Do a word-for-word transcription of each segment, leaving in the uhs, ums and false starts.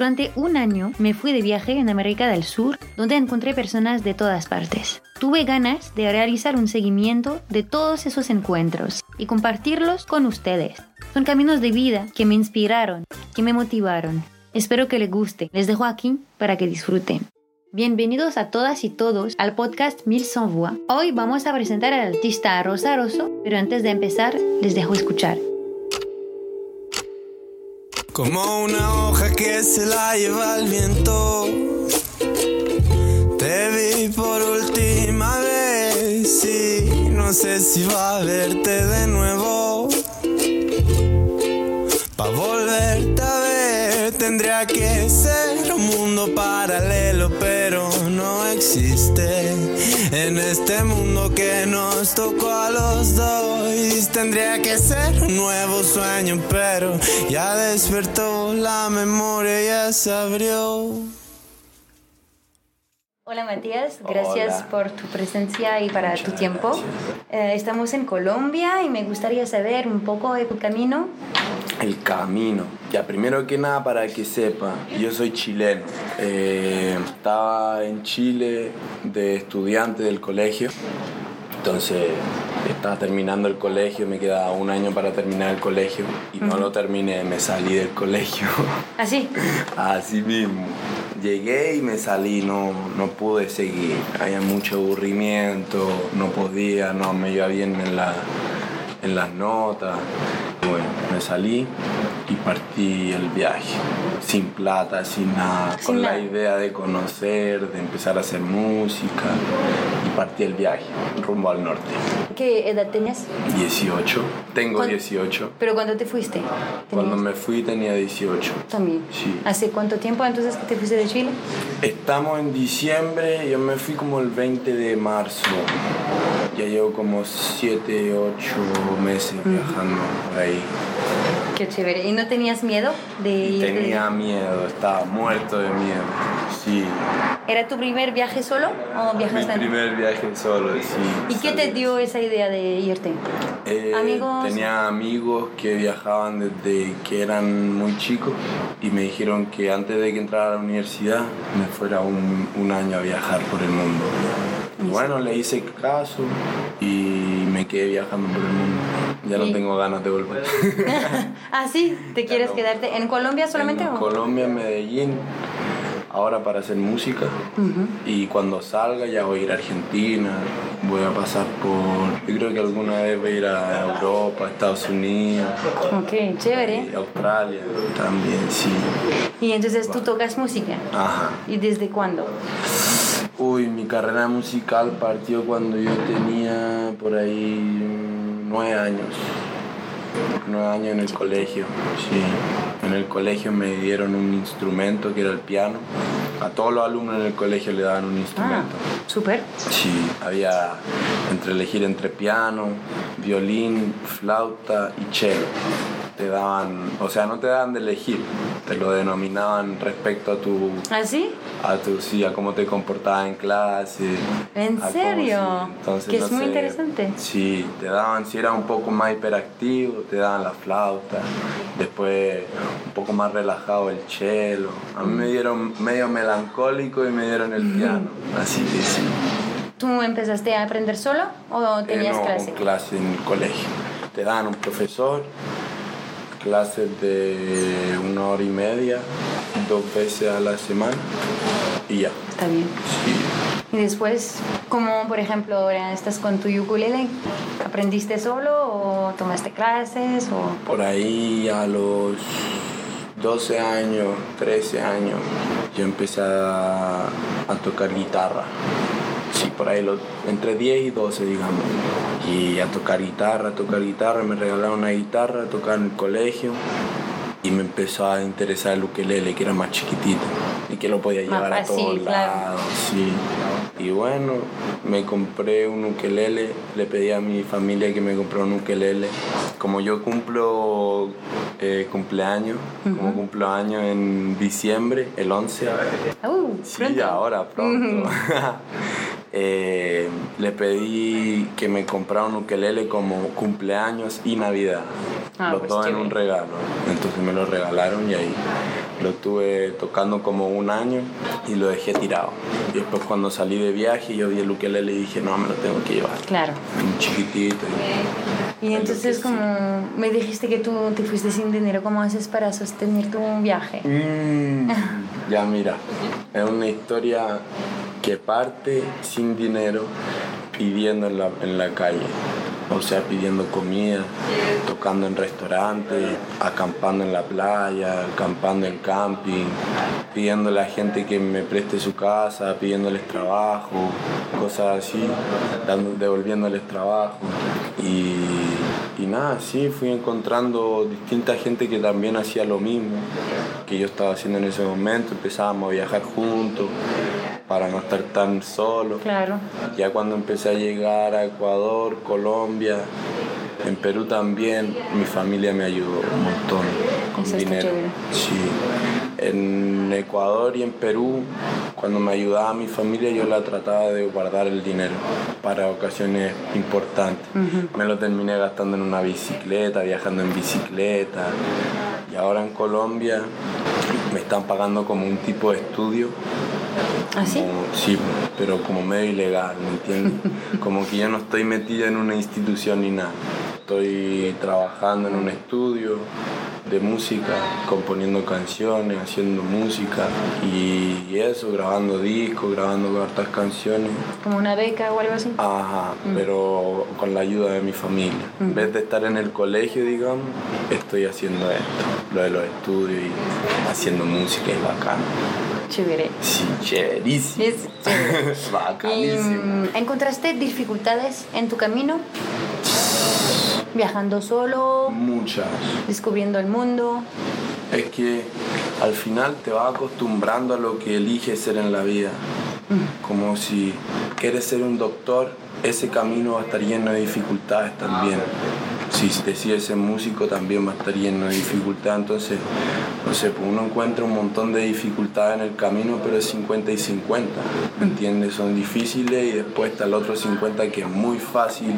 Durante un año me fui de viaje en América del Sur, donde encontré personas de todas partes. Tuve ganas de realizar un seguimiento de todos esos encuentros y compartirlos con ustedes. Son caminos de vida que me inspiraron, que me motivaron. Espero que les guste. Les dejo aquí para que disfruten. Bienvenidos a todas y todos al podcast Mille Cent Voix. Hoy vamos a presentar al artista Rosa Rosso, pero antes de empezar les dejo escuchar. Como una hoja que se la lleva el viento, te vi por última vez y no sé si va a verte de nuevo. Pa' volverte a ver tendría que ser un mundo paralelo, pero no existe. En este mundo que nos tocó a los dos, tendría que ser un nuevo sueño, pero ya despertó la memoria, ya se abrió. Hola Matías, gracias Hola. por tu presencia y para Muchas tu tiempo. Eh, estamos en Colombia y me gustaría saber un poco de tu camino. El camino. Ya, primero que nada, para que sepa, yo soy chileno. Eh, estaba en Chile de estudiante del colegio. Entonces, estaba terminando el colegio, me quedaba un año para terminar el colegio y no Ujú. lo terminé, me salí del colegio. ¿Así? Así mismo. Llegué y me salí, no, no pude seguir. Había mucho aburrimiento, no podía, no me iba bien en, la, en las notas. Y bueno, me salí y partí el viaje. Sin plata, sin nada, Sin con nada. la idea de conocer, de empezar a hacer música. Y partí el viaje, rumbo al norte. ¿Qué edad tenías? dieciocho. Tengo ¿Cuán- dieciocho. ¿Pero cuándo te fuiste? Cuando ¿Tenías? me fui tenía dieciocho. También. Sí. ¿Hace cuánto tiempo entonces que te fuiste de Chile? Estamos en diciembre, yo me fui como el veinte de marzo. Ya llevo como siete, ocho meses viajando por ahí. Qué chévere. ¿Y no tenías miedo de ir? de- Tenía miedo, estaba muerto de miedo. Sí, ¿Era tu primer viaje solo o mi viajaste en- primer viaje solo, sí. ¿Y qué te salí. dio esa idea de irte? Eh, amigos? Tenía amigos que viajaban desde que eran muy chicos y me dijeron que antes de que entrara a la universidad me fuera un, un año a viajar por el mundo. Y bueno, le hice caso y me quedé viajando por el mundo. Ya no Y- tengo ganas de volver. ¿Ah, sí? ¿Te quieres no. quedarte en Colombia solamente? En o? Colombia, en Medellín, ahora para hacer música. Ujú. Y cuando salga ya voy a ir a Argentina, voy a pasar por... Yo creo que alguna vez voy a ir a Europa, Estados Unidos, Ok, chévere. y Australia también, sí. Y entonces tú tocas música. Ajá. ¿Y desde cuándo? Uy, mi carrera musical partió cuando yo tenía por ahí mm, nueve años. Nueve años en el colegio, sí. En el colegio me dieron un instrumento que era el piano. A todos los alumnos en el colegio le daban un Ah, instrumento. súper. Sí, había entre elegir entre piano, violín, flauta y cello. Te daban, o sea, no te daban de elegir, te lo denominaban respecto a tu, ¿Ah, sí? a tu, sí, a cómo te comportabas en clase. ¿En a cómo- serio? sí, entonces, Que no es muy sé, interesante. Sí, te daban, si eras un poco más hiperactivo, te daban la flauta, después un poco más relajado el cello. A mí me dieron medio melancólico y me dieron el piano, así que sí. ¿Tú empezaste a aprender solo o tenías Eh, no, clase? con clase en el colegio. Te dan un profesor, clases de una hora y media, dos veces a la semana y ya. Está bien. Sí. Y después, como por ejemplo ahora estás con tu ukulele, ¿aprendiste solo o tomaste clases o...? Por ahí a los doce años, trece años, yo empecé a, a tocar guitarra. Sí, por ahí los, entre diez y doce, digamos. Y a tocar guitarra, a tocar guitarra, me regalaron una guitarra, a tocar en el colegio. Y me empezó a interesar el ukelele, que era más chiquitito y que lo podía Más llevar a fácil, todos claro. lados. Sí. Y bueno, me compré un ukelele, le pedí a mi familia que me comprara un ukelele. Como yo cumplo eh, cumpleaños, como cumplo años en diciembre, el once. Uh, Sí, pronto. ahora, pronto. eh, le pedí que me comprara un ukelele como cumpleaños y Navidad. Ah, los pues dos en chévere. un regalo. Entonces me lo regalaron y ahí Lo tuve tocando como un año y lo dejé tirado. Y después cuando salí de viaje yo vi el ukelele y dije, no, me lo tengo que llevar. Claro. Un chiquitito. Y, y entonces como sí. Me dijiste que tú te fuiste sin dinero, ¿cómo haces para sostener tu viaje? Mm, ya mira, es una historia que parte sin dinero, pidiendo en la, en la calle. O sea, pidiendo comida, tocando en restaurantes, acampando en la playa, acampando en camping, pidiéndole a gente que me preste su casa, pidiéndoles trabajo, cosas así, dando, devolviéndoles trabajo. Y, y nada, sí, fui encontrando distinta gente que también hacía lo mismo que yo estaba haciendo en ese momento. Empezábamos a viajar juntos para no estar tan solo. Claro. Ya cuando empecé a llegar a Ecuador, Colombia, en Perú también, mi familia me ayudó un montón con Eso dinero. Sí. En Ecuador y en Perú, cuando me ayudaba mi familia, yo la trataba de guardar el dinero para ocasiones importantes. Uh-huh. Me lo terminé gastando en una bicicleta, viajando en bicicleta. Y ahora en Colombia me están pagando como un tipo de estudio. ¿Ah, sí? Como, sí, pero como medio ilegal, ¿me entiendes? Como que yo no estoy metida en una institución ni nada. Estoy trabajando en un estudio de música, componiendo canciones, haciendo música y eso, grabando discos, grabando hartas canciones. ¿Como una beca o algo así? Ajá, mm. pero con la ayuda de mi familia. Mm. En vez de estar en el colegio, digamos, estoy haciendo esto, lo de los estudios y haciendo música, es bacán. Chévere. Sí, chéverísimo. Es chévere. Bacanísimo. ¿Y, ¿encontraste dificultades en tu camino? ¿Viajando solo? Muchas. ¿Descubriendo el mundo? Es que al final te vas acostumbrando a lo que eliges ser en la vida. Mm. Como si quieres ser un doctor, ese camino va a estar lleno de dificultades también. Si decides ser músico, también va a estar lleno de dificultades. Entonces, no sé, pues uno encuentra un montón de dificultades en el camino, pero es cincuenta y cincuenta, ¿me entiendes? Son difíciles y después está el otro cincuenta que es muy fácil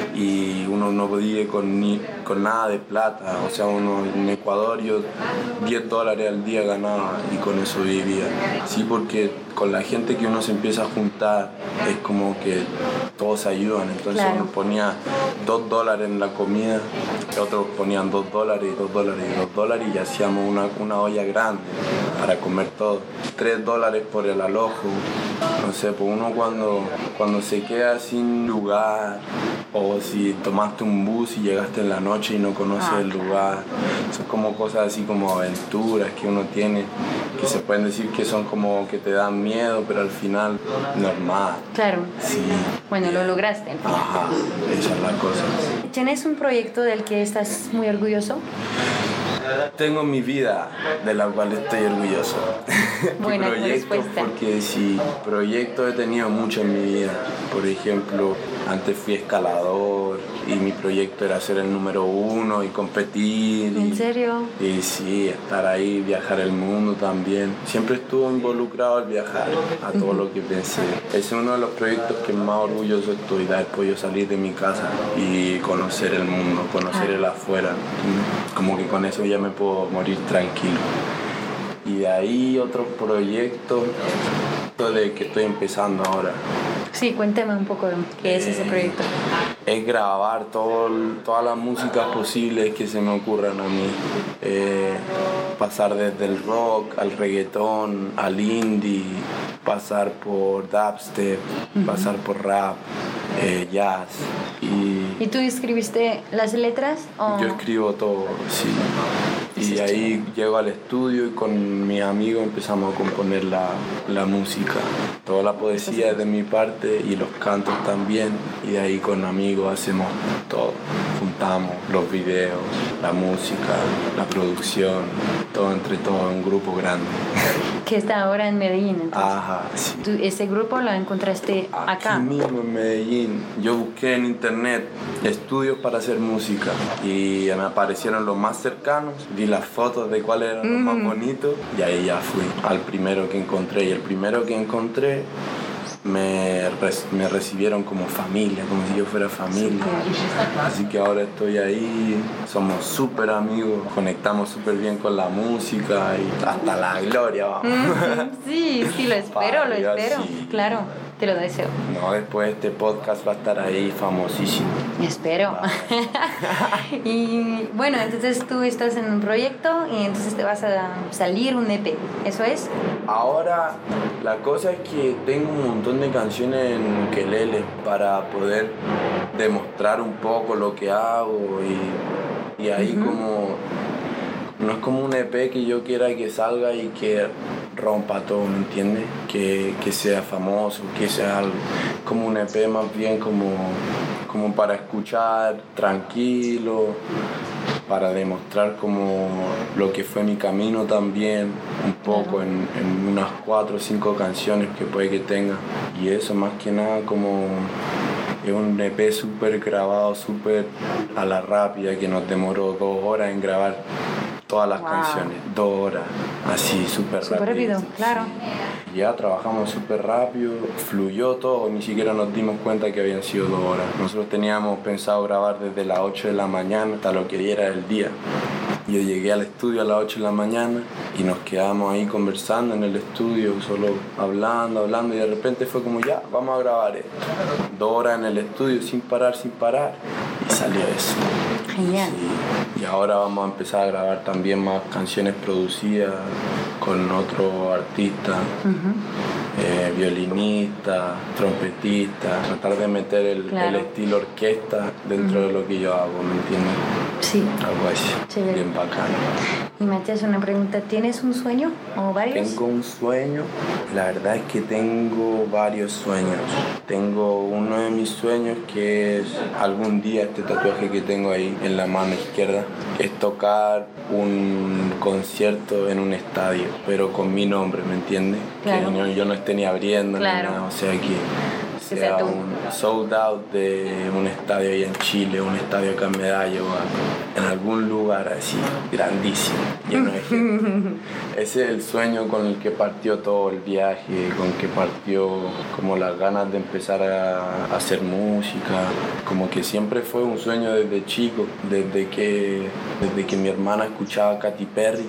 y uno no vive con, ni, con nada de plata. O sea, uno en Ecuador yo diez dólares al día ganaba y con eso vivía. Sí, porque con la gente que uno se empieza a juntar es como que todos ayudan. Entonces claro. Uno ponía dos dólares en la comida, otros ponían dos dólares y dos dólares y dos dólares y hacíamos una, una olla grande para comer todo. Tres dólares por el alojo. No sé, pues uno cuando, cuando se queda sin lugar o si tomaste un bus y llegaste en la noche y no conoces ah, el lugar, son como cosas así como aventuras que uno tiene que se pueden decir que son como que te dan miedo, pero al final normal. Claro. Sí. Bueno, lo lograste. Ajá, esa es la cosa. ¿Tienes un proyecto del que estás muy orgulloso? Tengo mi vida, de la cual estoy orgulloso. Buena respuesta. Porque sí, proyectos he tenido mucho en mi vida. Por ejemplo, antes fui escalador y mi proyecto era ser el número uno y competir. ¿En y, serio? Y sí, estar ahí, viajar el mundo también. Siempre estuve involucrado al viajar, a todo lo que pensé. Ese es uno de los proyectos que más orgulloso estoy, de haber podido salir de mi casa y conocer el mundo, conocer ah. el afuera. Como que con eso ya me puedo morir tranquilo. Y de ahí otro proyecto de que estoy empezando ahora. Sí, cuéntame un poco de qué es eh, ese proyecto. Es grabar todo, todas las músicas posibles que se me ocurran a mí. Eh, pasar desde el rock al reggaetón, al indie, pasar por dubstep, uh-huh. pasar por rap, eh, jazz. Y, ¿Y tú escribiste las letras? ¿O? Yo escribo todo, sí. Y ahí llego al estudio y con mis amigos empezamos a componer la, la música. Toda la poesía es de mi parte y los cantos también. Y de ahí con amigos hacemos todo. Juntamos los videos, la música, la producción, todo entre todo en un grupo grande. Que está ahora en Medellín, entonces. Ajá, sí. ¿Tú ese grupo lo encontraste acá? Aquí mismo en Medellín. Yo busqué en internet estudios para hacer música y me aparecieron los más cercanos. Vi las fotos de cuál era mm. lo más bonito y ahí ya fui al primero que encontré. Y el primero que encontré me, me recibieron como familia, como si yo fuera familia. Así que ahora estoy ahí, somos súper amigos, conectamos súper bien con la música y hasta la gloria, vamos. Sí, sí, lo espero, lo espero, sí. Claro. Te lo deseo. No, después este podcast va a estar ahí famosísimo. Espero. Y bueno, entonces tú estás en un proyecto y entonces te vas a salir un E P, ¿eso es? Ahora, la cosa es que tengo un montón de canciones en ukelele para poder demostrar un poco lo que hago y, y ahí uh-huh. como... No es como un E P que yo quiera que salga y que rompa todo, ¿me entiendes? Que, que sea famoso, que sea algo, como un E P más bien como, como para escuchar tranquilo, para demostrar como lo que fue mi camino también, un poco en, en unas cuatro o cinco canciones que puede que tenga. Y eso más que nada como... Es un E P súper grabado, súper a la rápida, que nos demoró dos horas en grabar todas las wow. canciones, dos horas, así súper rápido. Súper rápido, claro. Sí. Ya trabajamos súper rápido, fluyó todo, ni siquiera nos dimos cuenta que habían sido dos horas. Nosotros teníamos pensado grabar desde las ocho de la mañana hasta lo que diera el día. Yo llegué al estudio a las ocho de la mañana y nos quedamos ahí conversando en el estudio, solo hablando, hablando, y de repente fue como ya, vamos a grabar esto. Dos horas en el estudio sin parar, sin parar, y salió eso. Genial. Sí. Y ahora vamos a empezar a grabar también más canciones producidas con otro artista, uh-huh. eh, violinista, trompetista, tratar de meter el, claro. el estilo orquesta dentro uh-huh. de lo que yo hago, ¿me entiendes? Sí. Algo así, chévere. Bien bacano. Y Matías, una pregunta, ¿tienes un sueño o varios? Tengo un sueño, la verdad es que tengo varios sueños. Tengo uno de mis sueños que es algún día, este tatuaje que tengo ahí en la mano izquierda, es tocar un concierto en un estadio, pero con mi nombre, ¿me entiendes? Claro. Que yo, yo no esté ni abriendo, claro. ni nada, o sea que sea un sold out de un estadio ahí en Chile, un estadio acá en Medallo, en algún lugar así, grandísimo, lleno de gente. Ese es el sueño con el que partió todo el viaje, con el que partió como las ganas de empezar a, a hacer música, como que siempre fue un sueño desde chico, desde que, desde que mi hermana escuchaba Katy Perry.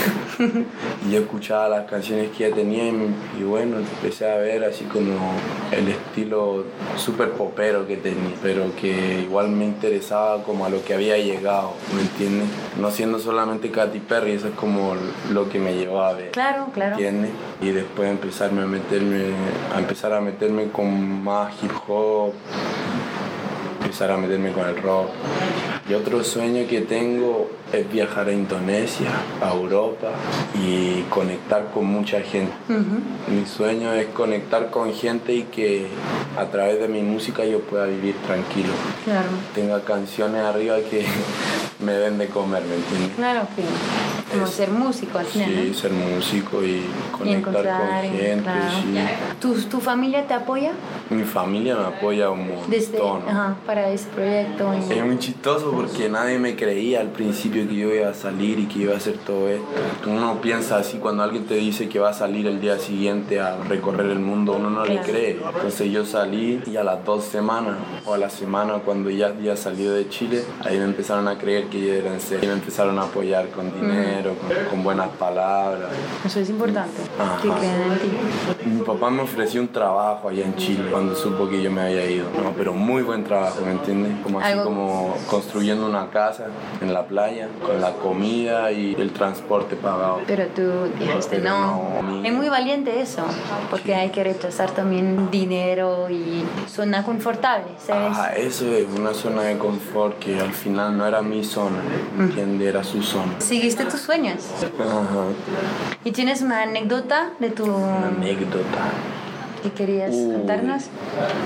Y yo escuchaba las canciones que ella tenía y, y bueno, empecé a ver así como el estilo súper popero que tenía, pero que igual me interesaba como a lo que había llegado, ¿me entiendes? No siendo solamente Katy Perry, eso es como lo que me llevó a ver. Claro, claro. ¿Entiendes? Y después empezarme a meterme, a empezar a meterme con más hip hop, empezar a meterme con el rock. Y otro sueño que tengo es viajar a Indonesia, a Europa y conectar con mucha gente. Uh-huh. Mi sueño es conectar con gente y que a través de mi música yo pueda vivir tranquilo. Claro. Tenga canciones arriba que me den de comer, ¿me entiendes? Claro, que como es, ser músico al final, sí, ¿no? ser músico y conectar y con gente. Claro. Sí. ¿Tu, ¿Tu familia te apoya? Mi familia me apoya un montón. Desde, ajá, para ese proyecto. Y... Es muy chistoso porque nadie me creía al principio que yo iba a salir y que iba a hacer todo esto. Uno piensa así, cuando alguien te dice que va a salir el día siguiente a recorrer el mundo, uno no claro. le cree. Entonces yo salí y a las dos semanas o a la semana cuando ya había salido de Chile, ahí me empezaron a creer que yo era en serio. Y me empezaron a apoyar con dinero, mm. con, con buenas palabras. Eso es importante, ajá. que crean en ti. Mi papá me ofreció un trabajo allá en Chile cuando supo que yo me había ido. No, pero muy buen trabajo, ¿me entiendes? Como así ¿Algo? Como construyendo una casa en la playa, con la comida y el transporte pagado. Pero tú dijiste pero no. no es muy valiente eso, porque sí. hay que rechazar también dinero y zona confortable, ¿sabes? Ajá, eso es una zona de confort que al final no era mi zona, ¿me entiendes? Era su zona. ¿Seguiste tus sueños? Ajá. ¿Y tienes una anécdota de tu...? Una anécdota. ¿Qué querías Uy. contarnos?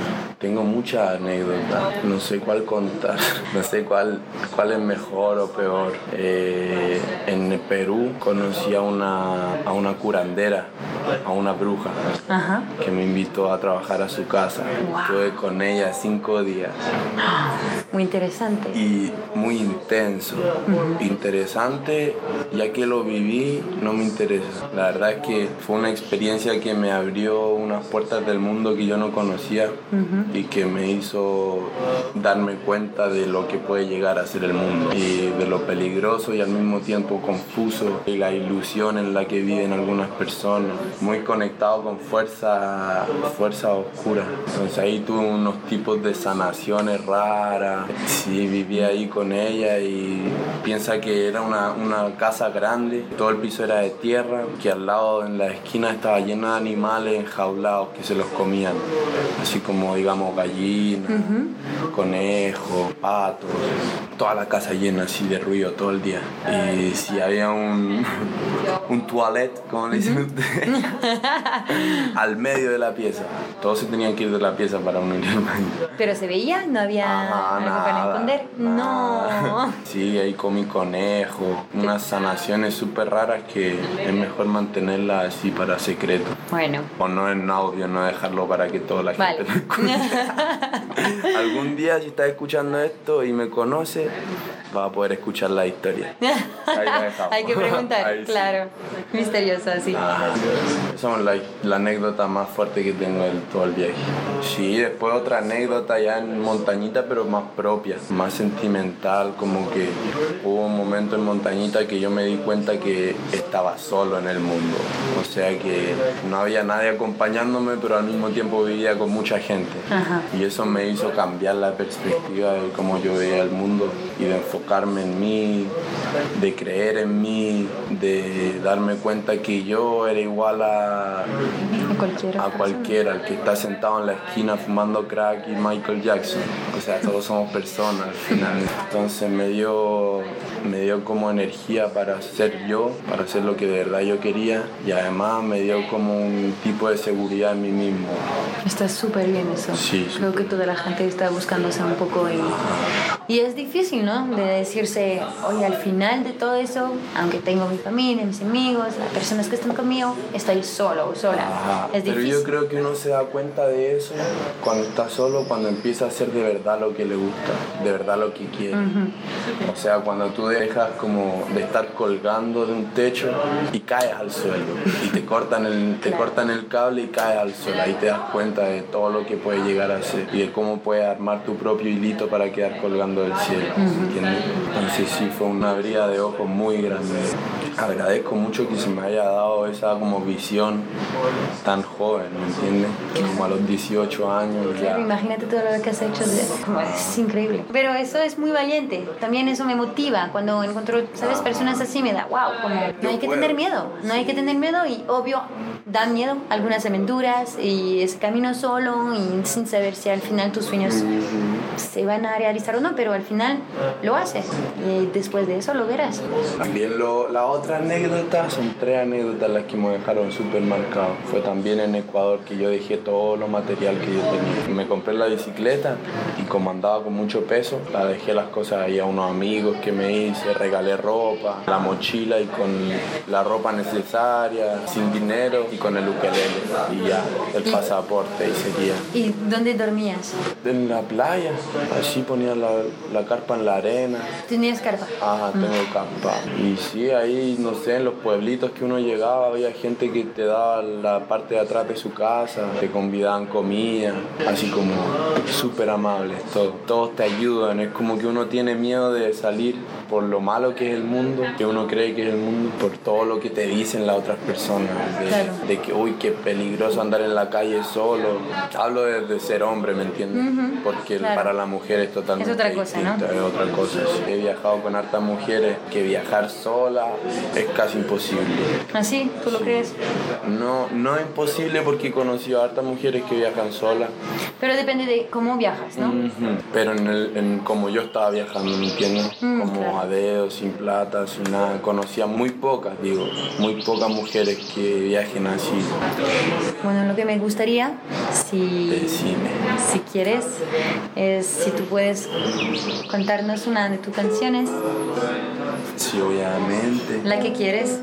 tengo muchas anécdotas, no sé cuál contar, no sé cuál, cuál es mejor o peor. Eh, en Perú conocí a una, a una curandera, a una bruja, Ajá. que me invitó a trabajar a su casa. Wow. Estuve con ella cinco días. Muy interesante. Y muy intenso, uh-huh. Interesante, ya que lo viví, no me interesa. La verdad es que fue una experiencia que me abrió unas puertas del mundo que yo no conocía, uh-huh. Y que me hizo darme cuenta de lo que puede llegar a ser el mundo y de lo peligroso y al mismo tiempo confuso y la ilusión en la que viven algunas personas, muy conectado con fuerza, fuerza oscura. Entonces ahí tuve unos tipos de sanaciones raras. Sí, viví ahí con ella y piensa que era una, una casa grande, todo el piso era de tierra, que al lado en la esquina estaba llena de animales enjaulados que se los comían, así como digamos gallinas, uh-huh. conejos, patos, toda la casa llena así de ruido todo el día. Y si había un, un toilet, como le dicen ustedes, al medio de la pieza, todos se tenían que ir de la pieza para uno ir al baño. ¿Pero se veía? ¿No había Ajá, algo nada, para esconder? Nada. No. Sí, ahí comí conejo, unas sanaciones súper raras que es mejor mantenerlas así para secreto. Bueno. O no en audio, no dejarlo para que toda la vale. gente lo escuche. Algún día si estás escuchando esto y me conoces, vas a poder escuchar la historia. Ahí lo dejamos. Hay que preguntar, Ahí, claro. Sí. Misterioso, sí. Ajá. Esa es la, la anécdota más fuerte que tengo de todo el viaje. Sí, después otra anécdota ya en montañita, pero más propia, más sentimental, como que hubo un momento en montañita que yo me di cuenta que estaba solo en el mundo. O sea que no había nadie acompañándome, pero al mismo tiempo vivía con mucha gente. Ajá. Y eso me hizo cambiar la perspectiva de cómo yo veía el mundo y de enfocarme en mí, de creer en mí, de darme cuenta que yo era igual a, a cualquiera, a cualquiera, el que está sentado en la esquina fumando crack y Michael Jackson. O sea, todos somos personas al final. Entonces me dio, me dio como energía para ser yo, para hacer lo que de verdad yo quería, y además me dio como un tipo de seguridad en mí mismo. Está súper bien eso. Sí, creo sí. que toda la gente está buscándose un poco y, y es difícil, ¿no? De decirse, oye, al final de todo eso, aunque tengo mi familia, mis amigos, las personas que están conmigo, estoy solo o sola. Ajá. Es Pero difícil. yo creo que uno se da cuenta de eso cuando está solo, cuando empieza a hacer de verdad lo que le gusta, de verdad lo que quiere. Uh-huh. O sea, cuando tú dejas como de estar colgando de un techo y caes al suelo y te cortan el, te claro. cortan el cable y caes al suelo, ahí te das cuenta de todo lo que puedes llegar a hacer y de cómo puedes armar tu propio hilito para quedar colgando del cielo. Uh-huh. ¿Entiendes? Entonces sí, fue una abrida de ojos muy grande. Agradezco mucho que se me haya dado esa como visión tan joven, ¿me entiendes? Como a los dieciocho años ya. Claro, imagínate todo lo que has hecho, de, como, es increíble. Pero eso es muy valiente, también eso me motiva. Cuando encuentro, ¿sabes? Personas así me da, wow, como no hay que tener miedo, no hay que tener miedo y obvio dan miedo algunas aventuras y ese camino solo y sin saber si al final tus sueños mm-hmm. se van a realizar o no, pero al final lo haces y después de eso lo verás. También lo, la otra anécdota, son tres anécdotas las que me dejaron súper marcados. Fue también en Ecuador que yo dejé todo lo material que yo tenía. Me compré la bicicleta y como andaba con mucho peso, la dejé las cosas ahí a unos amigos que me hice, regalé ropa, la mochila y con la ropa necesaria, sin dinero y con el ukelele y ya, el pasaporte y seguía. ¿Y dónde dormías? En la playa, así ponía la, la carpa en la arena. ¿Tenías carpa? Ajá, tengo mm. carpa. Y sí, ahí, no sé, en los pueblitos que uno llegaba había gente que te daba la parte de atrás de su casa, te convidaban comida, así como súper amables, todos. Todos te ayudan, es como que uno tiene miedo de salir por lo malo que es el mundo, que uno cree que es el mundo, por todo lo que te dicen las otras personas, de, claro. de que, uy, qué peligroso andar en la calle solo. Hablo de, de ser hombre, ¿me entiendes? Uh-huh. Porque claro. para la mujer es totalmente es otra cosa, distinto, ¿no? Es otra cosa. He viajado con hartas mujeres que viajar sola es casi imposible. ¿Ah, sí? ¿Tú lo sí. crees? No, no es imposible porque he conocido a hartas mujeres que viajan solas. Pero depende de cómo viajas, ¿no? Uh-huh. Pero en, el, en como yo estaba viajando, ¿me entiendes? Mm, como claro. a dedo, sin plata, sin nada. Conocía muy pocas, digo, muy pocas mujeres que viajen así. Bueno, lo que me gustaría, si, Decime. si quieres, es si tú puedes contarnos una de tus canciones, Sí, obviamente. la que quieres.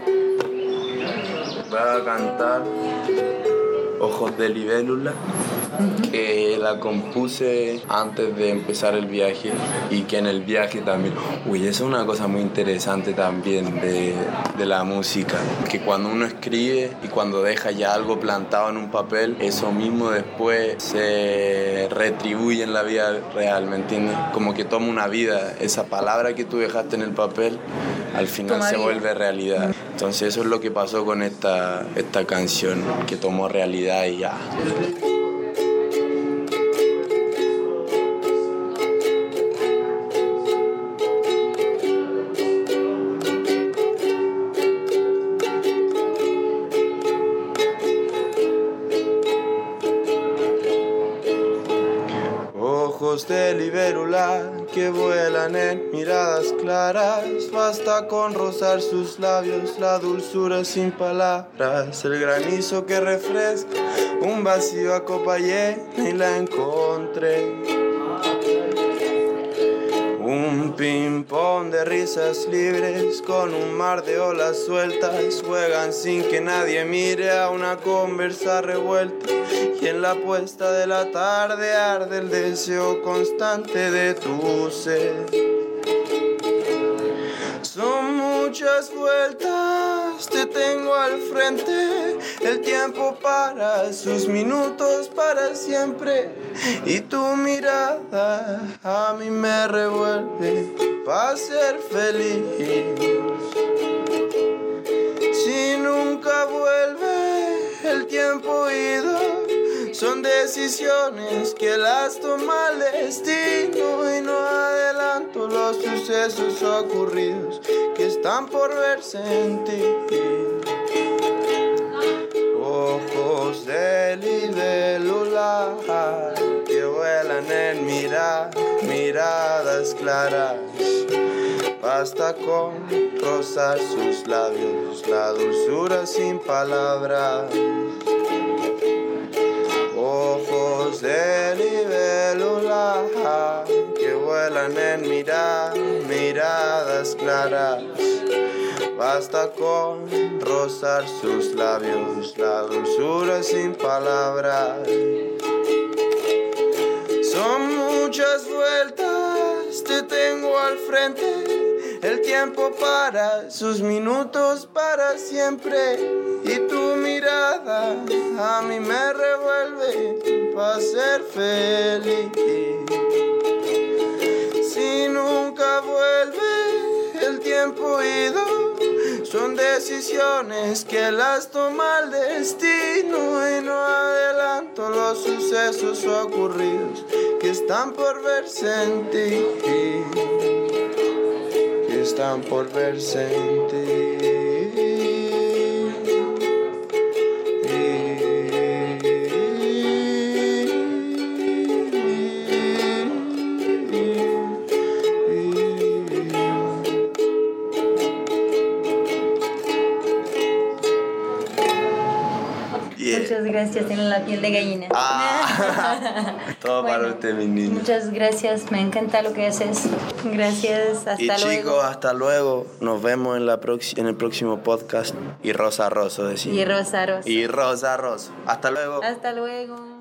Voy a cantar Ojos de libélula, que la compuse antes de empezar el viaje y que en el viaje también. Uy, eso es una cosa muy interesante también de, de la música, que cuando uno escribe y cuando deja ya algo plantado en un papel, eso mismo después se retribuye en la vida real, ¿me entiendes? Como que toma una vida, esa palabra que tú dejaste en el papel, al final Toma se vida. vuelve realidad. Entonces eso es lo que pasó con esta, esta canción, que tomó realidad y ya. Ojos de libélula que vuelan en miradas claras, basta con rozar sus labios, la dulzura sin palabras, el granizo que refresca un vacío a copa llena y la encontré. Un ping-pong de risas libres con un mar de olas sueltas, juegan sin que nadie mire a una conversa revuelta. Y en la puesta de la tarde arde el deseo constante de tu ser. Son muchas vueltas, te tengo al frente, el tiempo para sus minutos para siempre. Y tu mirada a mí me revuelve para ser feliz. Si nunca vuelve el tiempo ido, son decisiones que las toma el destino y no adelanto los sucesos ocurridos que están por verse en ti. Ojos de libélula que vuelan en mirar, miradas claras, basta con rozar sus labios, la dulzura sin palabras. Ojos de libélula que vuelan en mirar, miradas claras, basta con rozar sus labios, la dulzura sin palabras. Son muchas vueltas, te tengo al frente, el tiempo para sus minutos para siempre. Y tu mirada a mí me revuelve para ser feliz. Si nunca vuelve el tiempo ido, son decisiones que las toma el destino y no adelanto los sucesos ocurridos que están por verse en ti, que están por verse en ti. Muchas gracias, tienen la piel de gallina. Ah, todo Bueno, para usted, mi niño. Muchas gracias, me encanta lo que haces. Gracias, hasta Y luego. chicos, hasta luego. Nos vemos en, la prox- en el próximo podcast. Y Rosa Rosso, decimos. Y Rosa Rosa. Y Rosa Rosso. Hasta luego. Hasta luego.